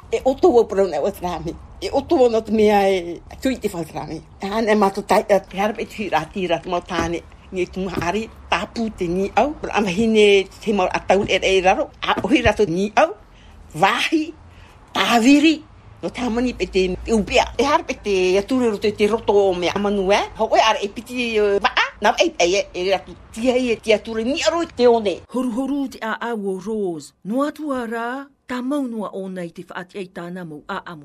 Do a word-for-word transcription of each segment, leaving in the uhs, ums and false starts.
e oto o pro na o trami e oto no te mea e tui te whau trami an e mato tai e harpe tira tira mo tane ni tu hari tapu te ni au ama hine te mo atau e e raro a ohi rato ni au vahi taviri no tamani pe te upia e harpe te aturu te te roto o me amanu e ho e ar e piti va na e e e rato tia e tia aturu ni aro te one Horu horu te a awo Rose no atu ara ta maunua o nei te whaati ei tāna mo a amu.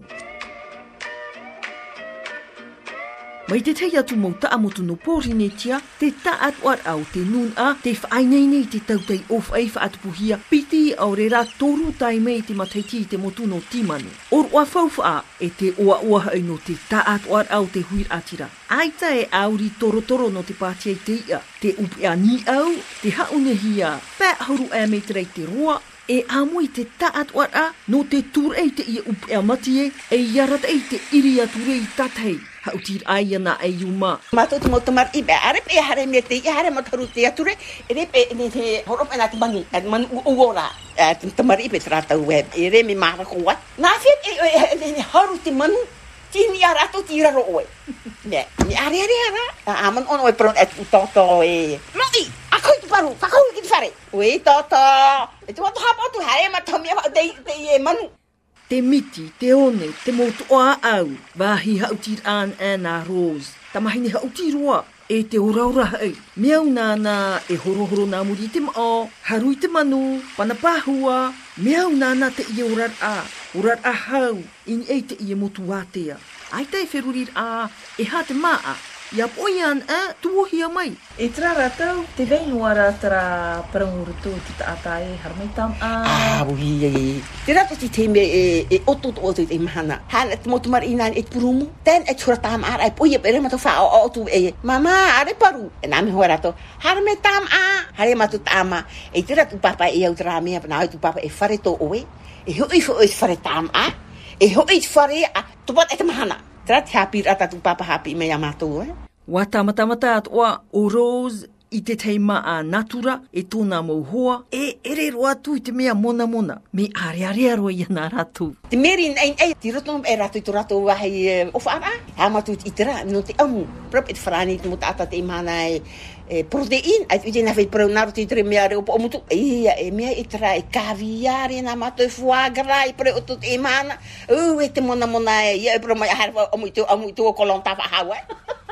Mai te tei atu mo ta amotu no pōri ne tia, te ta atu ar au te nun a, te whainei nei te tautei of ei whaatu puhia, piti au re rā toru tai mei te mataiti te motu no timanu. Or ua whauwha e te oa oa hau no te ta atu ar au te huir atira. Aita e auri toro toro no te pātia te ia, te upea ni au, te haunehia, pē hauru e mei te rei te roa, e amui te taat wara no te tur ei te ia upea matie e iarat ei te iri ature i tatei hautir ai ana e yuma mato te motomar i be are pe hare me te hare mataru te ature e re pe ni te horop ena te bangi at man uora te tamar i pe trata web e re me mara ko wat na fit e ni haru te manu tini ara to tira ro oe ne ni are are ara aman on oe pron et toto e mati akoi tu paru akoi ki fare we toto e tu hapa tu hare ma tomi de de e manu te miti te one te motu oa au wahi hautir an ana Rose tamahini hautir roa e te uraura hei miau nana e horo horo na muri te mao harui te manu panapahua miau nana te ia urar a urar a hau in e te ia motu atea ai te wherurir a e ha te maa ia poian a tuohia mai. E tra ratau, te veinua ratara parangurutu te taatai harmei tam a... Ah, ui, te rato ti te me e oto to oto te mahana. Hana te motumar inan e purumu, ten e tura tam ara e poia pere mato wha o oto e mama are paru. E nami hoa rato, harmei tam a, hare mato tama. E te rato papa e au tera mea, na tu papa e whare to oe, e hoi fo e whare tam a, e hoi whare a, tupat e te mahana. Tera te hapi rata tu papa hapi me amato, eh? Wa tamatamata atua o Rose i te teima a natura e tōna mauhoa e ere roa tu i te mea mona mona. Me are are aroa i ana ratu. Te meri nei ei ti roto e ratu i to rato wahi of ara. Ha matu i tera no te amu. Prop et frani mo tata te mana e e protein ai te na fai pro na ti tre mea re o mutu e e mea i tera e caviare na mato e foie gras i pre o to te mana. O e te mona mona e e pro mai har o muito o muito o kolon tava hawa.